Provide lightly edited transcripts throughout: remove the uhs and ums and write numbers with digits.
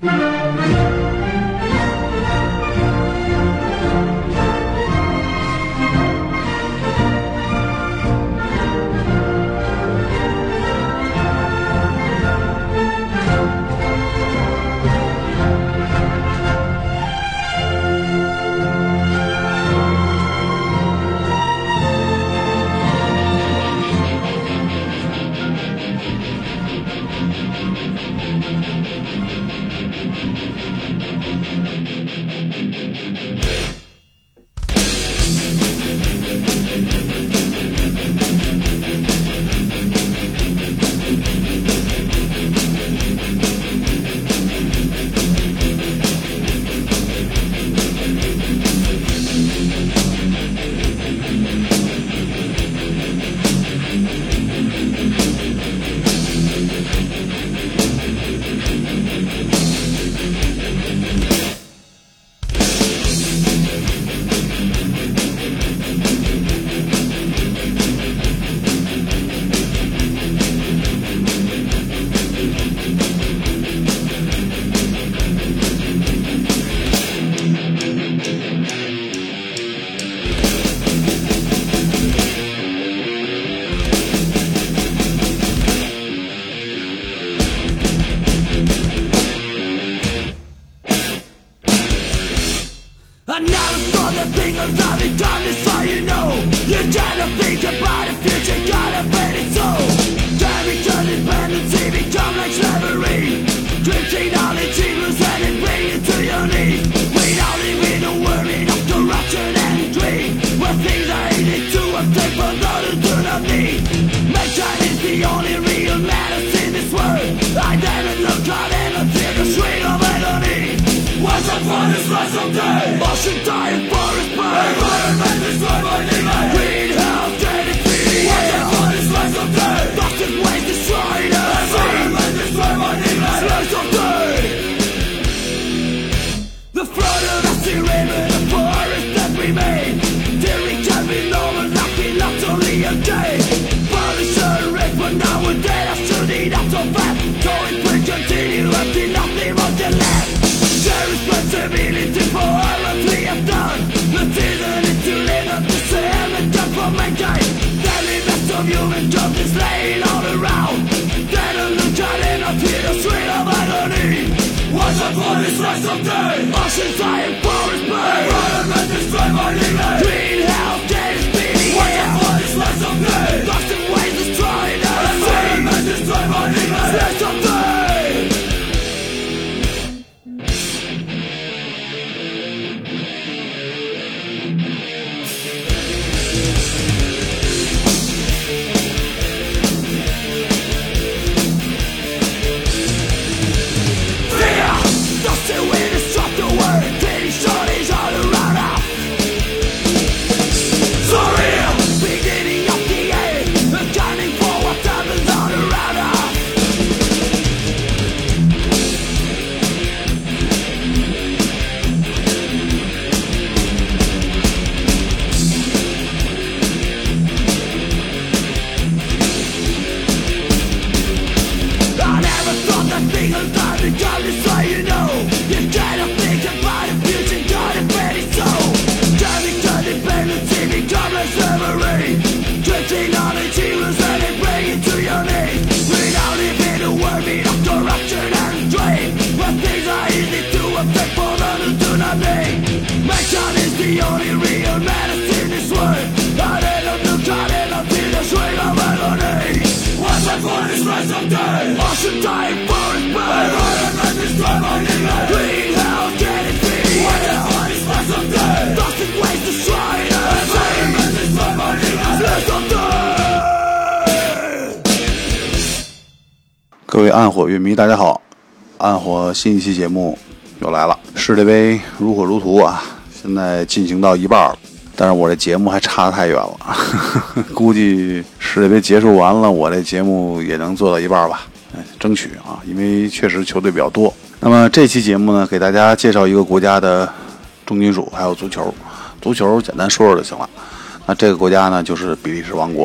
各位暗火乐迷大家好，暗火新一期节目又来了。世界杯如火如荼啊，现在进行到一半了，但是我这节目还差得太远了估计世界杯结束完了，我这节目也能做到一半吧，争取啊，因为确实球队比较多。那么这期节目呢，给大家介绍一个国家的重金属还有足球。足球简单说说就行了。那这个国家呢，就是比利时王国。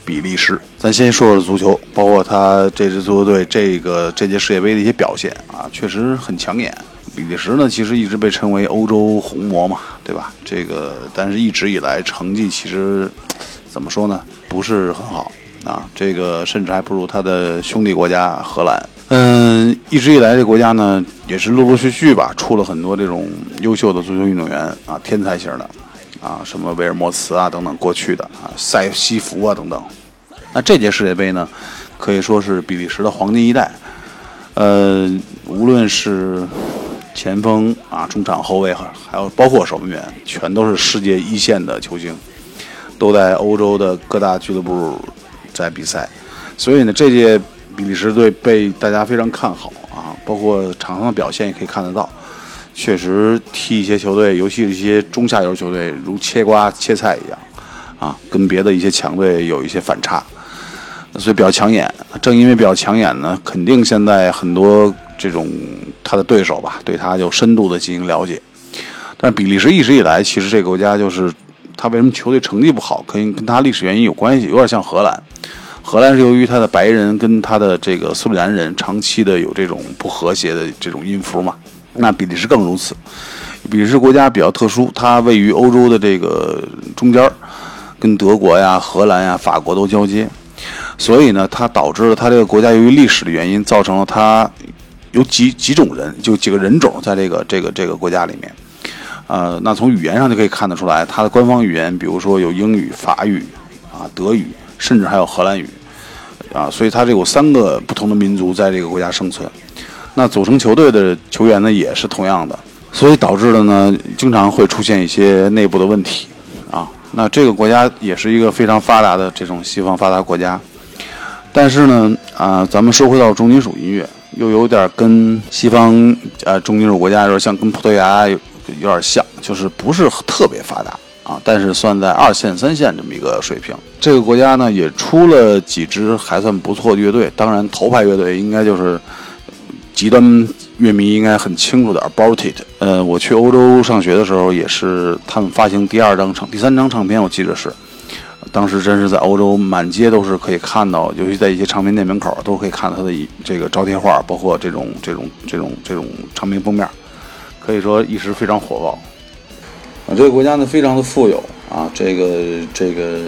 比利时。咱先说说足球，包括他这支足球队这届世界杯的一些表现啊，确实很抢眼。比利时呢，其实一直被称为欧洲红魔嘛，对吧？但是一直以来成绩其实怎么说呢，不是很好啊。这个甚至还不如他的兄弟国家荷兰。一直以来这国家呢，也是陆陆续续吧，出了很多这种优秀的足球运动员啊，天才型的啊，什么维尔莫茨啊等等过去的啊，塞西弗啊等等。那这届世界杯呢，可以说是比利时的黄金一代。无论是前锋啊、中场后卫，还有包括守门员，全都是世界一线的球星，都在欧洲的各大俱乐部在比赛。所以呢，这届比利时队被大家非常看好啊，包括场上的表现也可以看得到，确实踢一些球队，尤其是一些中下游球队，如切瓜切菜一样啊，跟别的一些强队有一些反差。所以比较抢眼，正因为比较抢眼呢，肯定现在很多这种他的对手吧，对他就深度的进行了解。但比利时一直以来，其实这个国家就是他为什么球队成绩不好，可以跟他历史原因有关系，有点像荷兰。荷兰是由于他的白人跟他的这个苏里南人长期的有这种不和谐的这种音符嘛，那比利时更如此。比利时国家比较特殊，它位于欧洲的这个中间，跟德国呀、荷兰呀、法国都交接。所以呢，它导致了它这个国家由于历史的原因，造成了它有几种人，就几个人种在这个国家里面。那从语言上就可以看得出来，它的官方语言，比如说有英语、法语啊、德语，甚至还有荷兰语啊，所以它这有3个不同的民族在这个国家生存。那组成球队的球员呢，也是同样的，所以导致了呢，经常会出现一些内部的问题啊。那这个国家也是一个非常发达的这种西方发达国家，但是呢，咱们说回到重金属音乐，又有点跟西方重金属国家有点像，跟葡萄牙有点像，就是不是特别发达啊，但是算在2线3线这么一个水平。这个国家呢也出了几支还算不错的乐队，当然头牌乐队应该就是极端乐迷应该很清楚的 Aborted。我去欧洲上学的时候，也是他们发行第3张唱片，我记得是，当时真是在欧洲满街都是可以看到，尤其在一些唱片店门口都可以看到他的这个招贴画，包括这种唱片封面，可以说一时非常火爆。这个国家呢非常的富有啊，这个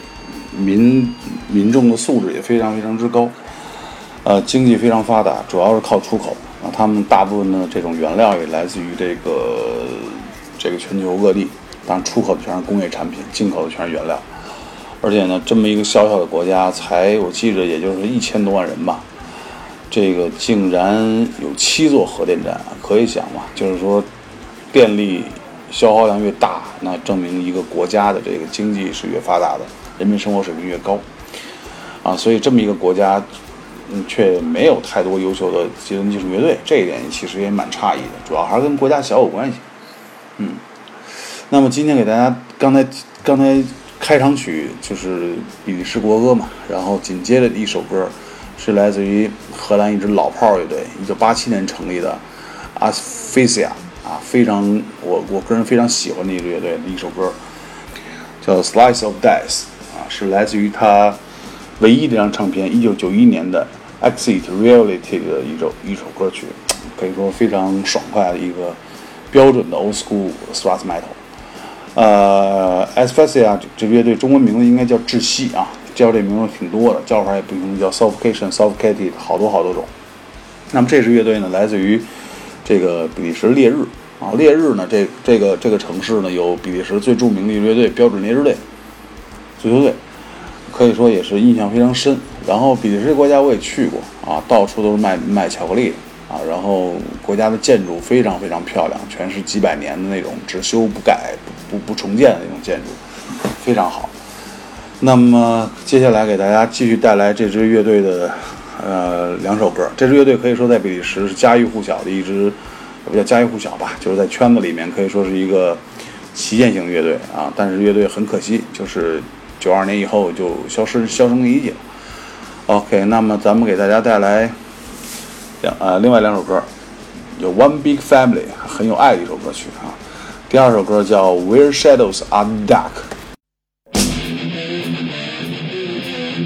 民众的素质也非常非常之高。经济非常发达，主要是靠出口啊。他们大部分的这种原料也来自于这个全球各地，当然出口的全是工业产品，进口的全是原料。而且呢，这么一个小小的国家，我记着也就是1000多万人吧，这个竟然有7座核电站，可以想嘛，就是说电力消耗量越大，那证明一个国家的这个经济是越发达的，人民生活水平越高啊。所以这么一个国家却没有太多优秀的极端技术乐队，这一点其实也蛮诧异的，主要还是跟国家小有关系。那么今天给大家刚才开场曲就是比利时国歌嘛，然后紧接着一首歌是来自于荷兰一支老炮乐队，1987年成立的 Asphyxia 啊，非常我个人非常喜欢的一支乐队的一首歌，叫 Slice of Death 啊，是来自于他唯一的一张唱片1991年的 Exit Reality 的一首歌曲，可以说非常爽快的一个标准的 old school thrash metal。Asphyxia 这乐队中文名字应该叫窒息啊，叫这名字挺多的，叫法也不同，叫 Suffocated 好多种。那么这支乐队呢，来自于这个比利时烈日啊，烈日呢这个城市呢有比利时最著名的乐队标准烈日队足球队，可以说也是印象非常深。然后比利时国家我也去过啊，到处都是卖巧克力啊，然后国家的建筑非常非常漂亮，全是几百年的那种只修不改不重建的那种建筑，非常好。那么接下来给大家继续带来这支乐队的2首歌。这支乐队可以说在比利时是家喻户晓的一支，不叫家喻户晓吧，就是在圈子里面可以说是一个旗舰型乐队啊。但是乐队很可惜，就是92年以后就销声匿迹了。OK， 那么咱们给大家带来另外2首歌，有 One Big Family 很有爱的一首歌曲啊。第2首歌叫 Where Shadows Are Dark。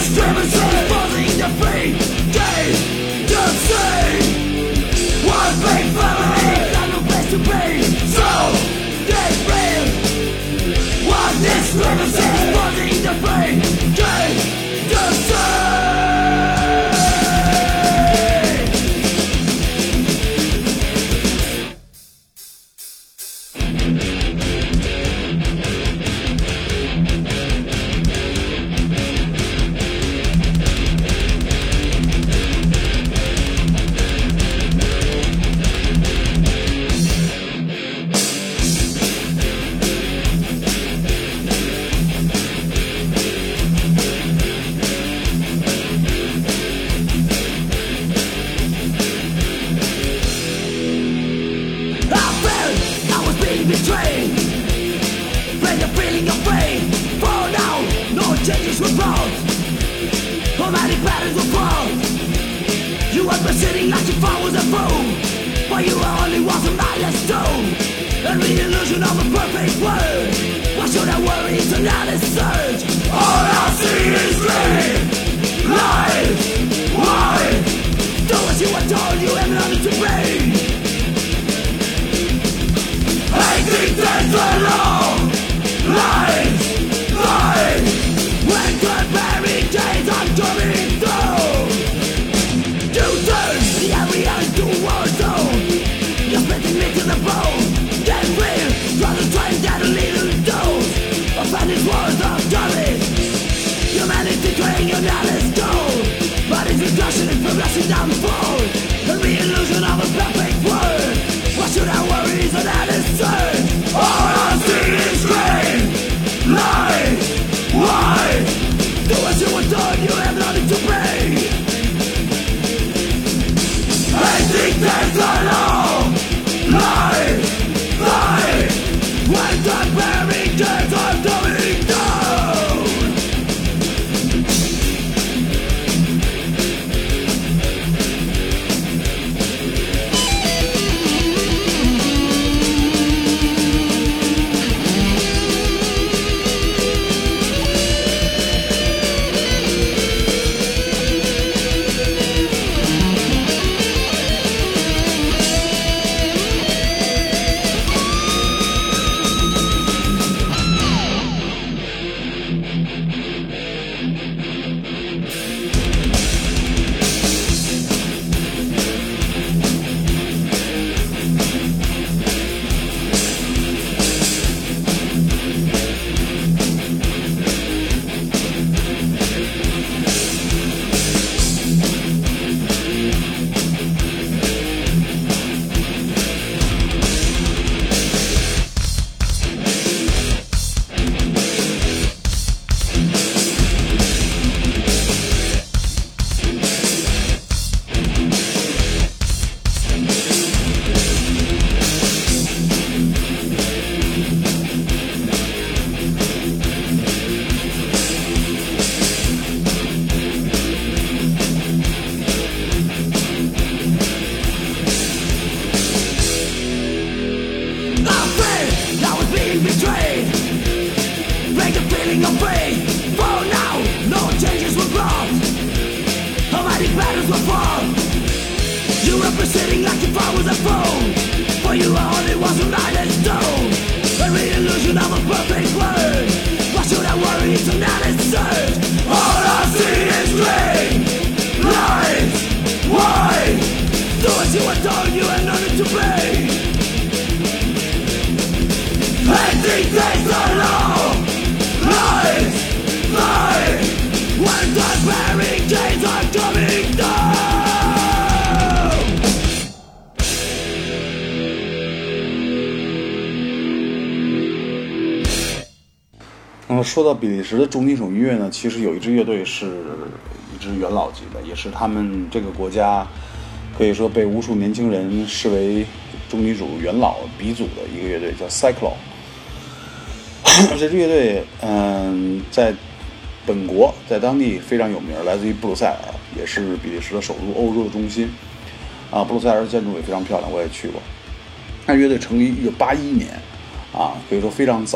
说到比利时的重金属音乐呢，其实有一支乐队是一支元老级的，也是他们这个国家可以说被无数年轻人视为重金属元老鼻祖的一个乐队，叫 Cyclone。这支乐队在本国在当地非常有名，来自于布鲁塞尔，也是比利时的首都，欧洲的中心啊。布鲁塞尔的建筑也非常漂亮，我也去过。那乐队成立1981年啊，可以说非常早了。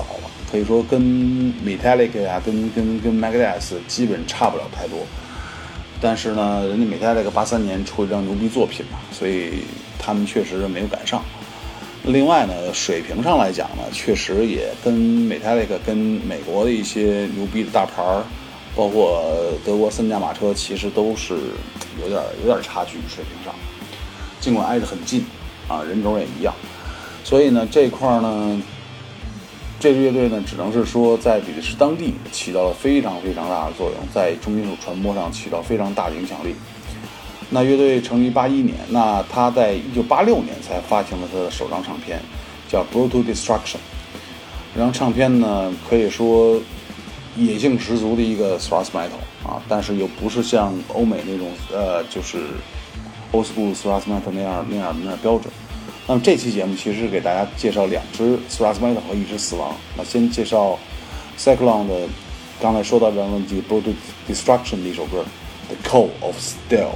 可以说跟 Metallica 呀、跟 Megadeth 基本差不了太多。但是呢，人家 Metallica 83年出一张牛逼作品嘛，所以他们确实没有赶上。另外呢，水平上来讲呢，确实也跟 Metallica 跟美国的一些牛逼的大牌，包括德国三驾马车，其实都是有点差距，水平上，尽管挨得很近啊，人种也一样。所以呢，这块呢，这支乐队呢，只能是说在比利时当地起到了非常非常大的作用，在重金属传播上起到非常大的影响力。那乐队成立81年，那他在1986年才发行了他的首张唱片，叫《Brutal Destruction》。这张唱片呢，可以说野性十足的一个 thrash metal 啊，但是又不是像欧美那种就是 old school thrash metal 那样标准。那么这期节目其实是给大家介绍2支 thrash metal 和1支死亡。那先介绍 Cyclone 的刚才说到的问题 Brutal Destruction 的一首歌 The Call of Steel。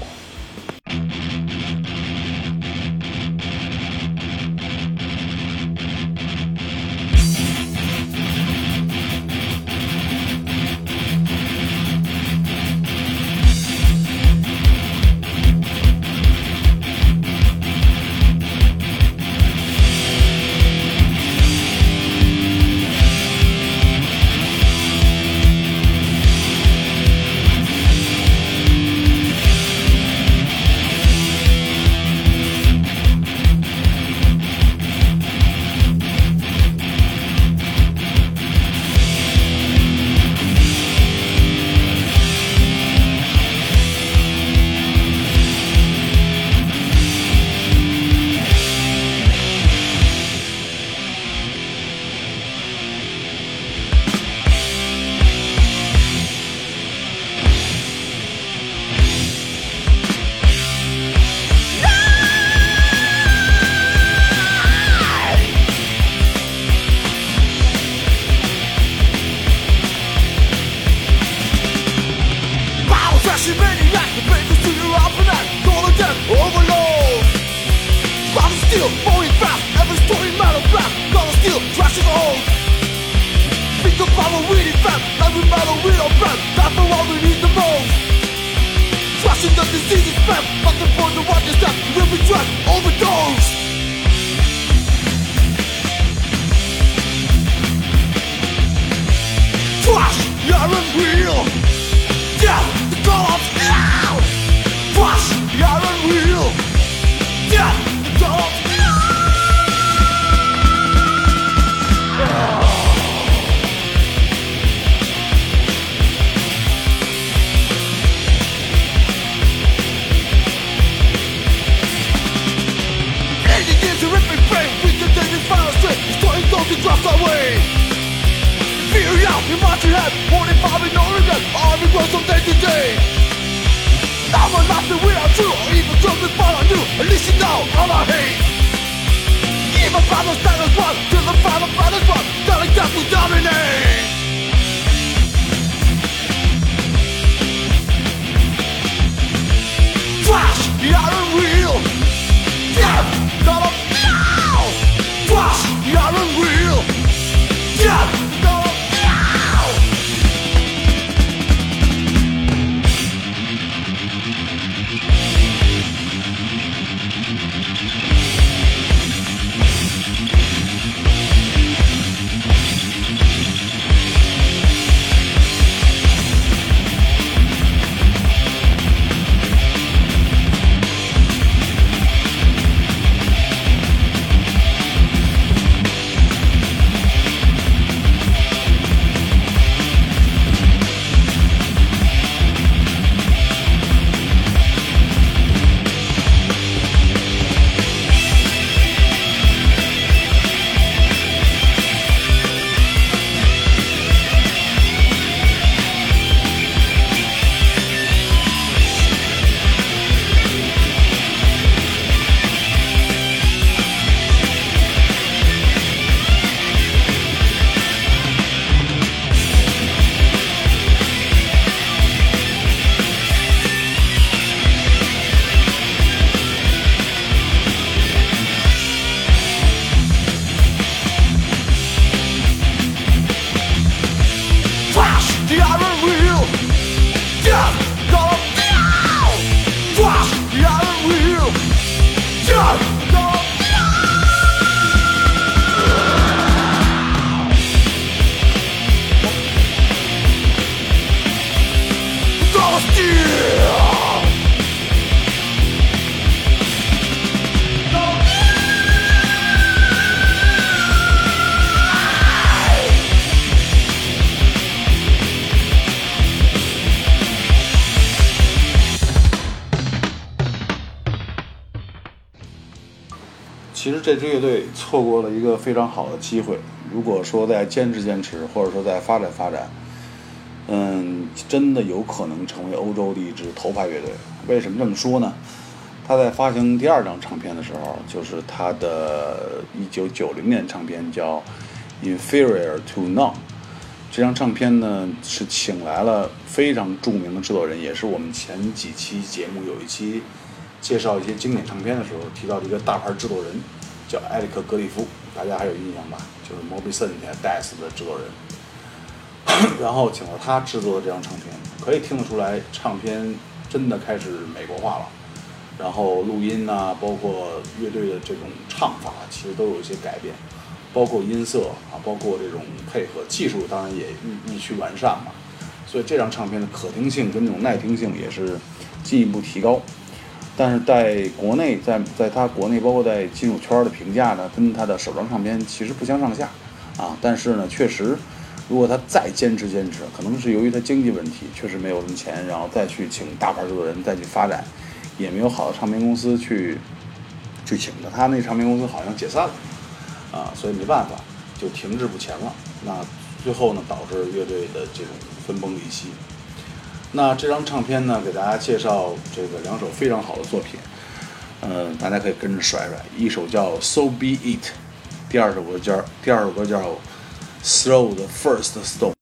其实这支乐队错过了一个非常好的机会，如果说再坚持，或者说再发展，真的有可能成为欧洲的一支头牌乐队。为什么这么说呢？他在发行第2张唱片的时候，就是他的1990年唱片叫 Inferior to None。这张唱片呢是请来了非常著名的制作人，也是我们前几期节目有一期介绍一些经典唱片的时候提到的一个大牌制作人，叫埃里克·格里夫，大家还有印象吧？就是 Moby Synth、Death 的制作人。然后请到他制作的这张唱片，可以听得出来，唱片真的开始美国化了。然后录音啊，包括乐队的这种唱法，其实都有一些改变，包括音色啊，包括这种配合技术，当然也日趋完善嘛。所以这张唱片的可听性跟这种耐听性也是进一步提高。但是在国内，在他国内包括在金属圈的评价呢，跟他的首张唱片其实不相上下啊。但是呢，确实，如果他再坚持，可能是由于他经济问题，确实没有什么钱，然后再去请大牌制作人再去发展，也没有好的唱片公司去请的。他那唱片公司好像解散了啊，所以没办法，就停滞不前了。那最后呢，导致乐队的这种分崩离析。那这张唱片呢，给大家介绍这个2首非常好的作品，大家可以跟着甩，一首叫 So Be It， 第二首歌叫 Throw the First Stone。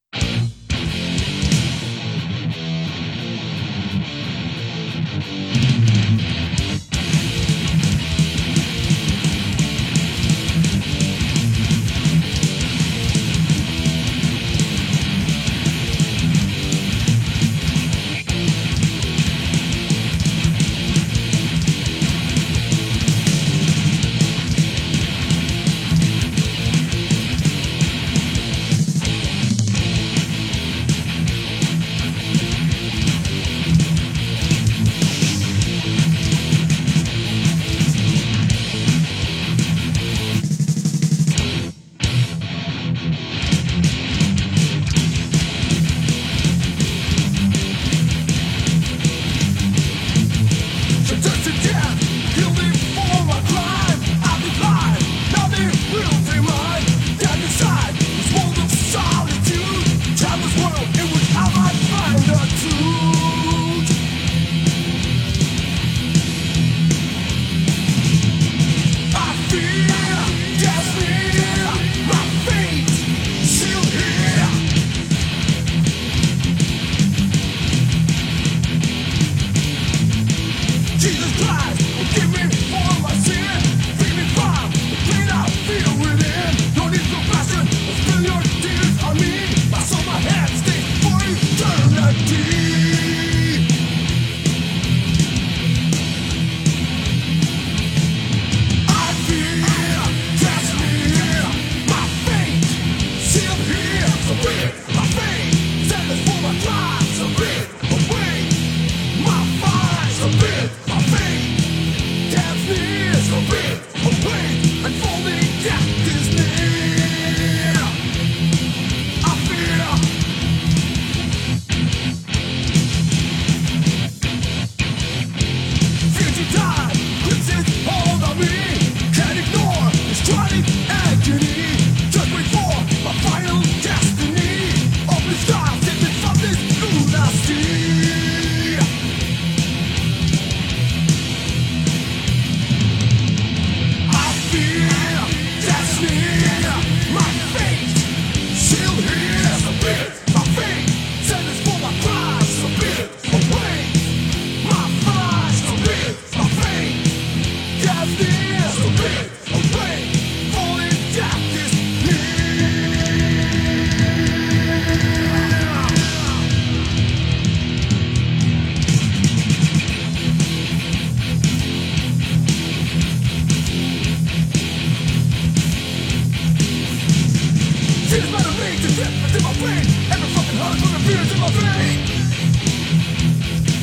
Every fucking heart from the fears in my veins.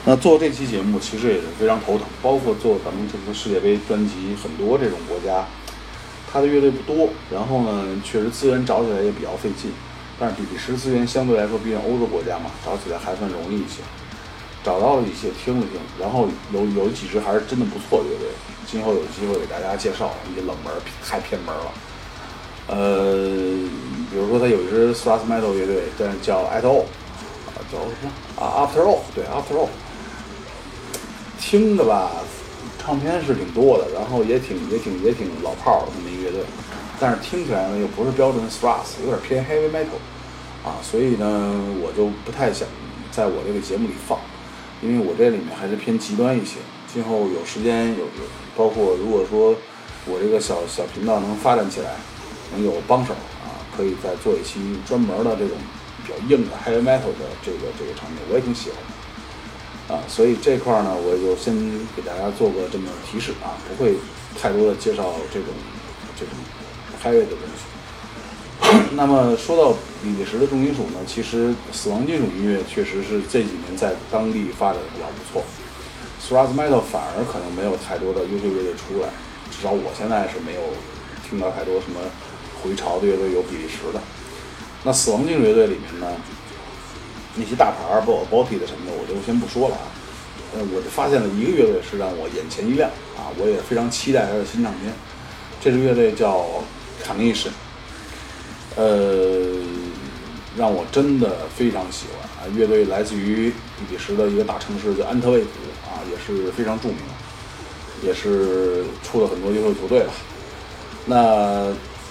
那做这期节目其实也是非常头疼，包括做咱们这次世界杯专辑，很多这种国家，它的乐队不多，然后呢，确实资源找起来也比较费劲。但是比利时资源相对来说，毕竟欧洲国家嘛，找起来还算容易一些。找到了一些，听了听，然后有几支还是真的不错的乐队，今后有机会给大家介绍一些冷门，太偏门了。比如说他有一支 thrash metal 乐队，但是叫 At All， 叫什么After All， 对 After All， 听的吧，唱片是挺多的，然后也挺老炮的那么一个乐队，但是听起来呢又不是标准的 thrash， 有点偏 heavy metal， 所以呢我就不太想在我这个节目里放。因为我这里面还是偏极端一些，今后有时间包括如果说我这个小频道能发展起来，能有帮手可以再做一期专门的这种比较硬的 heavy metal 的这个场景，我也挺喜欢的所以这块呢，我就先给大家做个这么提示不会太多的介绍这种 heavy 的东西。那么说到比利时的重金属呢，其实死亡金属音乐确实是这几年在当地发展的比较不错。thrash metal 反而可能没有太多的优秀乐队出来，至少我现在是没有听到太多什么回潮的乐队有比利时的。那死亡金属乐队里面呢，那些大牌包括 Body 的什么的，我就先不说了我就发现了一个乐队是让我眼前一亮我也非常期待他的新唱片。这支乐队叫 Carnation。让我真的非常喜欢乐队来自于比利时的一个大城市叫安特卫普也是非常著名，也是出了很多优秀球队了。那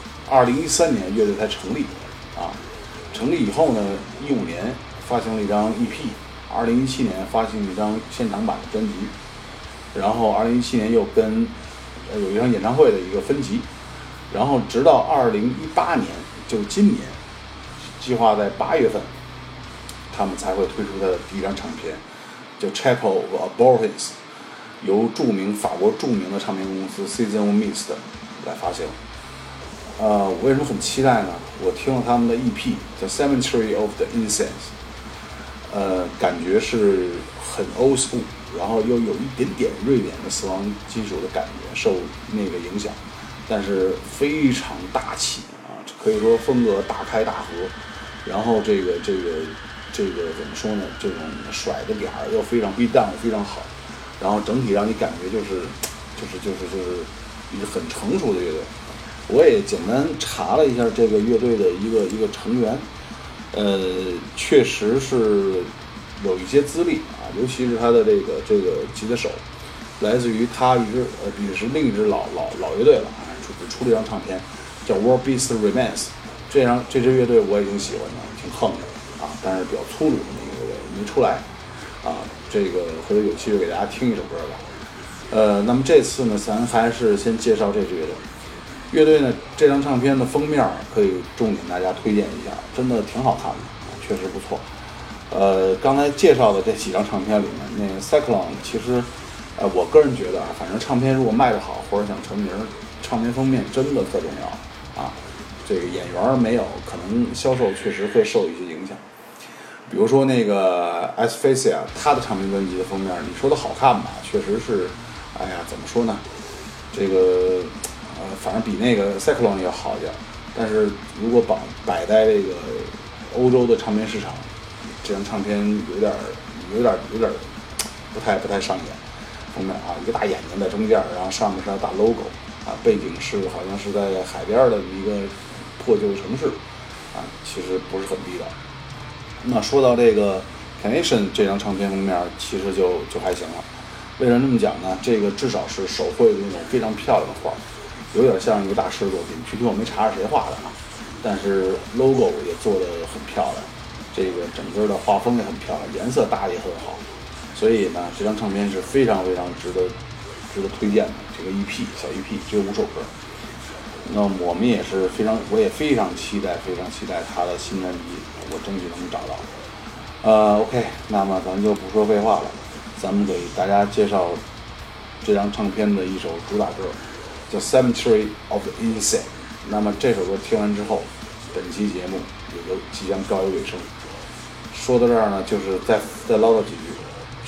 2013年乐队才成立成立以后呢，15年发行了一张 EP，2017年发行一张现场版的专辑，然后2017年又跟有一场演唱会的一个分级，然后直到2018年。就今年计划在8月份他们才会推出他的第一张唱片，叫 Chapel of Abortions， 由法国著名的唱片公司 Season of Mist 来发行。我为什么很期待呢？我听了他们的 EP 叫 Cemetery of the Innocents， 感觉是很 old school， 然后又有一点点瑞典的死亡金属的感觉，受那个影响，但是非常大气可以说风格大开大合，然后这个怎么说呢？这种甩的点儿又非常 beat down 非常好，然后整体让你感觉就是一个很成熟的乐队。我也简单查了一下这个乐队的一个成员，确实是有一些资历尤其是他的这个吉他手，来自于他比利时另一支老乐队了出了一张唱片。叫 War Beast Remains， 这支乐队我也挺喜欢的，挺横的但是比较粗鲁的那个乐队没出来这个回头有机会给大家听一首歌吧。那么这次呢，咱还是先介绍这支乐队。乐队呢，这张唱片的封面可以重点大家推荐一下，真的挺好看的，确实不错。刚才介绍的这几张唱片里面，那个 Cyclone 其实我个人觉得反正唱片如果卖得好或者想成名，唱片封面真的特重要这个演员没有，可能销售确实会受一些影响。比如说那个 Asphyxia， 他的唱片专辑的封面，你说的好看吧，确实是，怎么说呢？这个反正比那个 Cyclone 要好一点。但是如果摆在这个欧洲的唱片市场，这张唱片有点不太上眼。封面一个大眼睛在中间，然后上面是大 logo。背景是好像是在海边的一个破旧城市其实不是很地道。那说到这个 Carnation 这张唱片封面，其实就还行了。为什么这么讲呢？这个至少是手绘的那种非常漂亮的画，有点像一个大师的作品。具体我没查是谁画的但是 logo 也做得很漂亮，这个整个的画风也很漂亮，颜色搭也很好。所以呢，这张唱片是非常值得推荐的。这个 EP 小 EP 只有5首歌，那我也非常期待他的新专辑，我争取能找到。OK， 那么咱就不说废话了，咱们给大家介绍这张唱片的一首主打歌，叫 Cemetery of the Innocents。那么这首歌听完之后，本期节目也就即将告一尾声。说到这儿呢，就是再唠叨几句。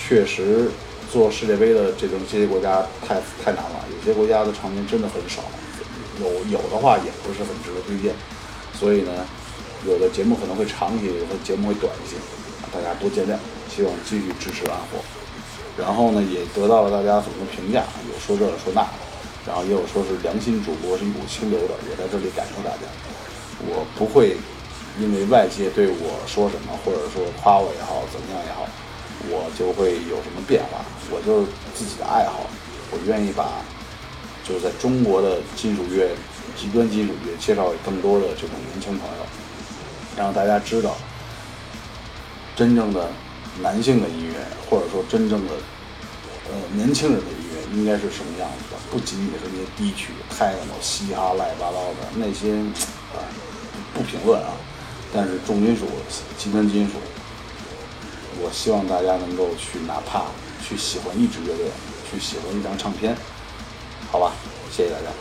确实做世界杯的这些国家太难了，有些国家的场面真的很少，有的话也不是很值得推荐，所以呢，有的节目可能会长一些，有的节目会短一些，大家多见谅，希望继续支持暗火。然后呢，也得到了大家很多评价，有说这说那，然后也有说是良心主播，是一股清流的，也在这里感受大家。我不会因为外界对我说什么，或者说夸我也好，怎么样也好，我就会有什么变化。我就是自己的爱好，我愿意把就是在中国的金属乐、极端金属乐介绍给更多的这种年轻朋友，让大家知道真正的男性的音乐，或者说真正的年轻人的音乐应该是什么样子的，不仅仅是那些低曲、泰诺、嘻哈、乱七八糟的那些不评论啊。但是重金属、极端金属，我希望大家能够去，哪怕去喜欢一支乐队，去喜欢一张唱片，好吧，谢谢大家。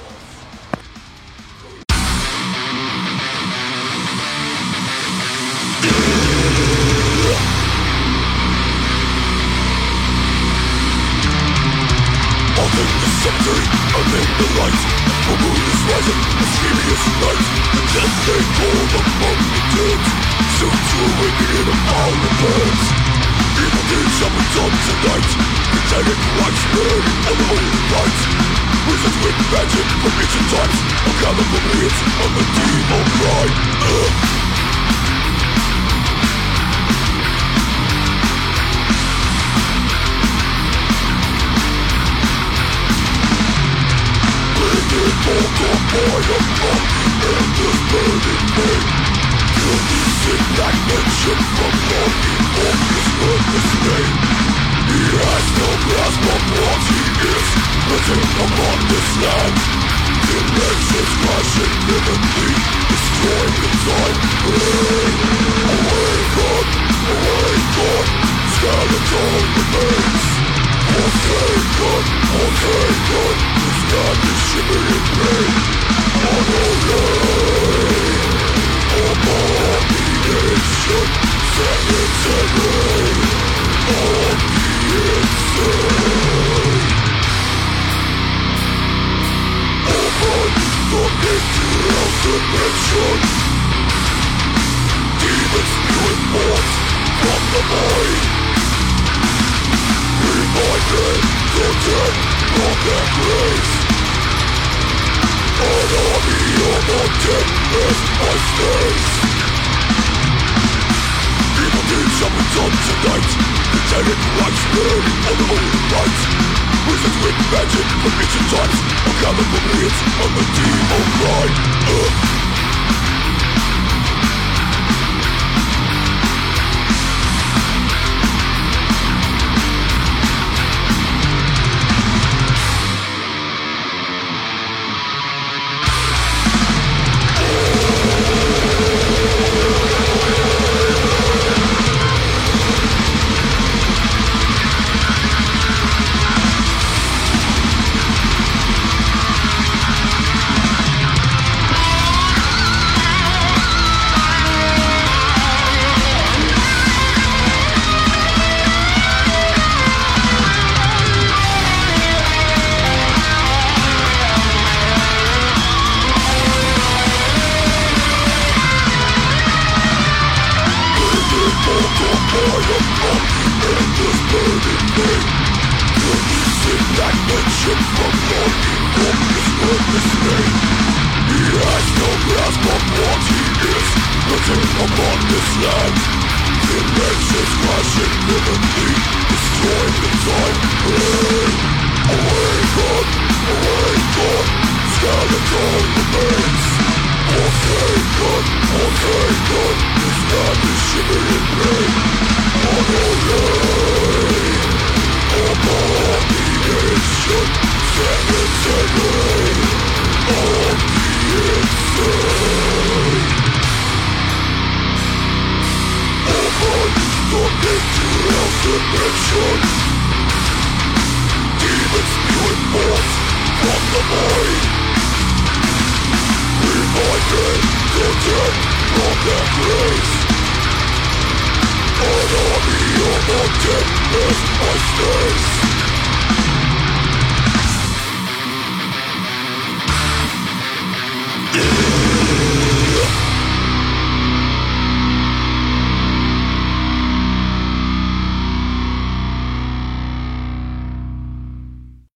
An army of Forgiveness my face.